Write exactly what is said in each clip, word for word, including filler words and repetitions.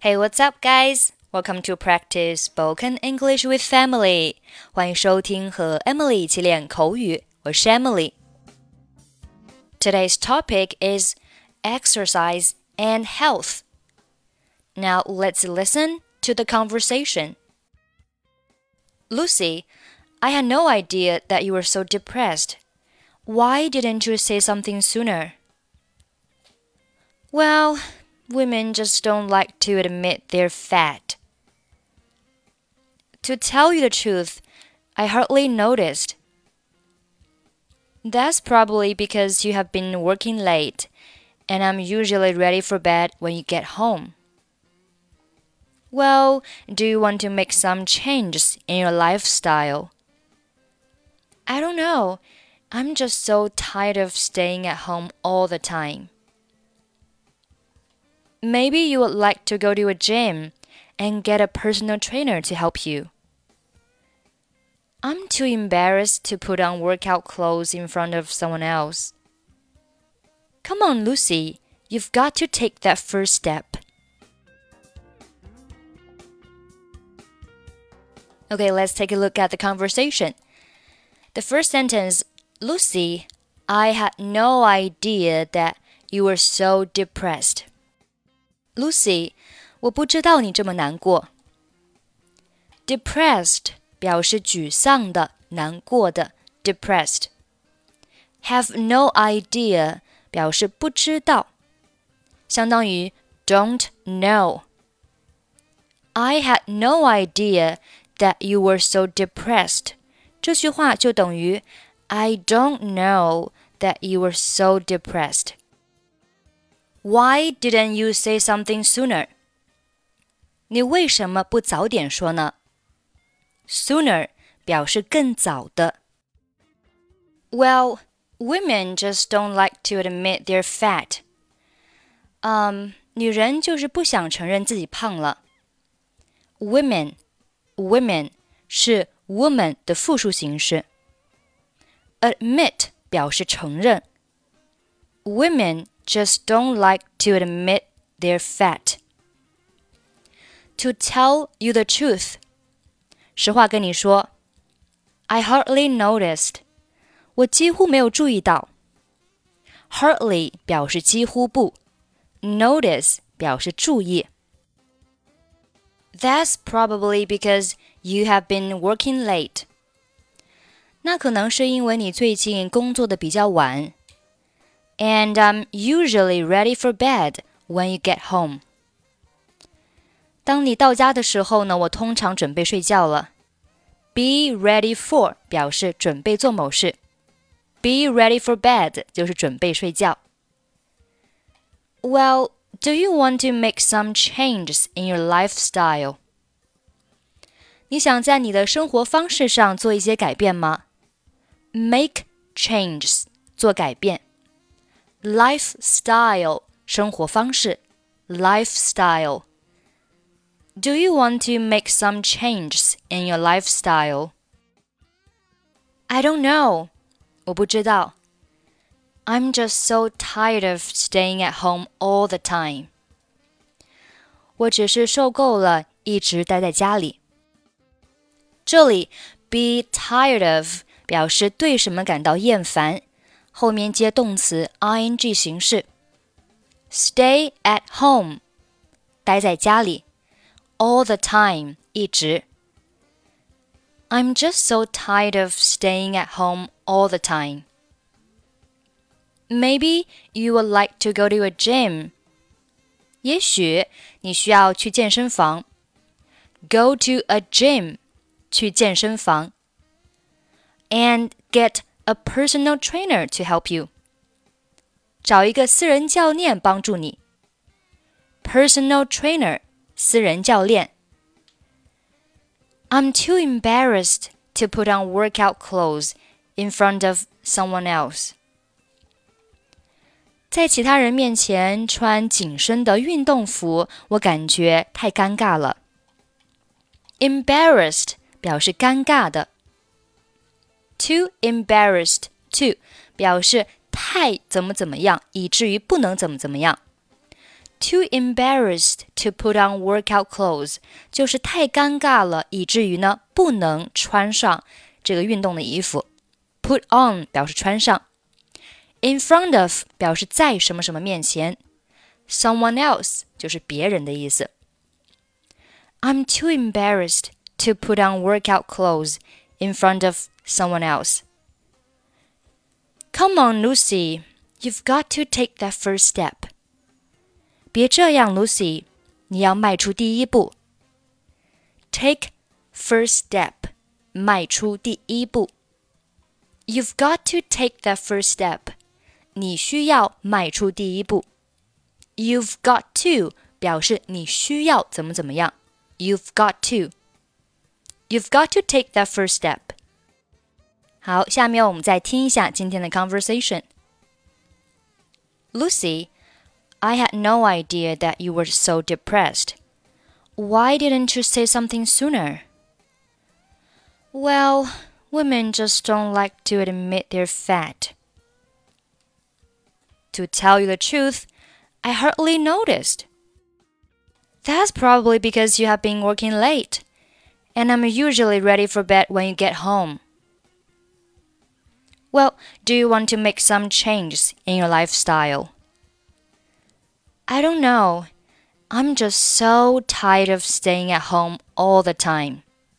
Hey, what's up, guys? Welcome to practice spoken English with Family. 欢迎收听和 Emily 一起练口语，我是 Emily. Today's topic is exercise and health. Now let's listen to the conversation. Lucy, I had no idea that you were so depressed. Why didn't you say something sooner? Well, women just don't like to admit they're fat. To tell you the truth, I hardly noticed. That's probably because you have been working late, and I'm usually ready for bed when you get home. Well, do you want to make some changes in your lifestyle? I don't know. I'm just so tired of staying at home all the time. Maybe you would like to go to a gym and get a personal trainer to help you. I'm too embarrassed to put on workout clothes in front of someone else. Come on, Lucy, you've got to take that first step. Okay, let's take a look at the conversation. The first sentence, Lucy, I had no idea that you were so depressed. Lucy, 我不知道你这么难过。Depressed 表示沮丧的、难过的 depressed. Have no idea 表示不知道，相当于 don't know. I had no idea that you were so depressed. 这句话就等于 I don't know that you were so depressed. Why didn't you say something sooner? 你为什么不早点说呢？ Sooner 表示更早的。Well, women just don't like to admit they're fat. 嗯，女人就是不想承认自己胖了。Women, women 是 woman 的复数形式。Admit 表示承认。Women just don't like to admit they're fat. To tell you the truth. 实话跟你说 I hardly noticed. 我几乎没有注意到。Hardly 表示几乎不 Notice 表示注意。That's probably because you have been working late. 那可能是因为你最近工作的比较晚。And I'm usually ready for bed when you get home. 当你到家的时候呢，我通常准备睡觉了。Be ready for 表示准备做某事。Be ready for bed 就是准备睡觉。Well, do you want to make some changes in your lifestyle? 你想在你的生活方式上做一些改变吗？ Make changes 做改变。Lifestyle 生活方式 Lifestyle Do you want to make some changes in your lifestyle? I don't know. 我不知道。I'm just so tired of staying at home all the time. 我只是受够了一直待在家里。这里 be tired of 表示对什么感到厌烦，后面接动词 ing 形式。Stay at home 待在家里。All the time 一直。I'm just so tired of staying at home all the time. Maybe you would like to go to a gym. 也许你需要去健身房。Go to a gym 去健身房。And get a personal trainer to help you. 找一个私人教练帮助你。Personal trainer私人教练。I'm too embarrassed to put on workout clothes in front of someone else. 在其他人面前穿紧身的运动服，我感觉太尴尬了。Embarrassed 表示尴尬的。Too embarrassed to 表示太怎么怎么样，以至于不能怎么怎么样。 too embarrassed to put on workout clothes， 就是太尴尬了，以至于呢不能穿上这个运动的衣服。Put on 表示穿上。In front of 表示在什么什么面前。Someone else 就是别人的意思。I'm too embarrassed to put on workout clothes in front of someone else. Come on, Lucy, you've got to take that first step. 别这样 Lucy, 你要迈出第一步。Take first step, 迈出第一步。You've got to take that first step. 你需要迈出第一步。You've got to 表示你需要怎么怎么样。You've got to. You've got to take that first step. 好，下面我们再听一下今天的 conversation. Lucy, I had no idea that you were so depressed. Why didn't you say something sooner? Well, women just don't like to admit they're fat. To tell you the truth, I hardly noticed. That's probably because you have been working late, and I'm usually ready for bed when you get home. Well, do you want to make some changes in your lifestyle? I don't know. I'm just so tired of staying at home all the time.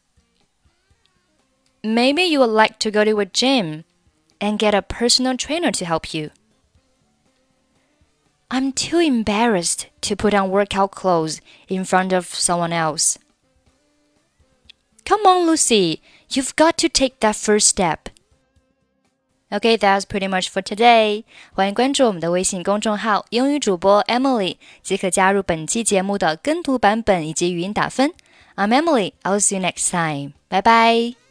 Maybe you would like to go to a gym and get a personal trainer to help you. I'm too embarrassed to put on workout clothes in front of someone else. Come on, Lucy, you've got to take that first step. Okay, that's pretty much for today. 欢迎关注我们的微信公众号英语主播 Emily， 即可加入本期节目的跟读版本以及语音打分。I'm Emily, I'll see you next time. Bye bye.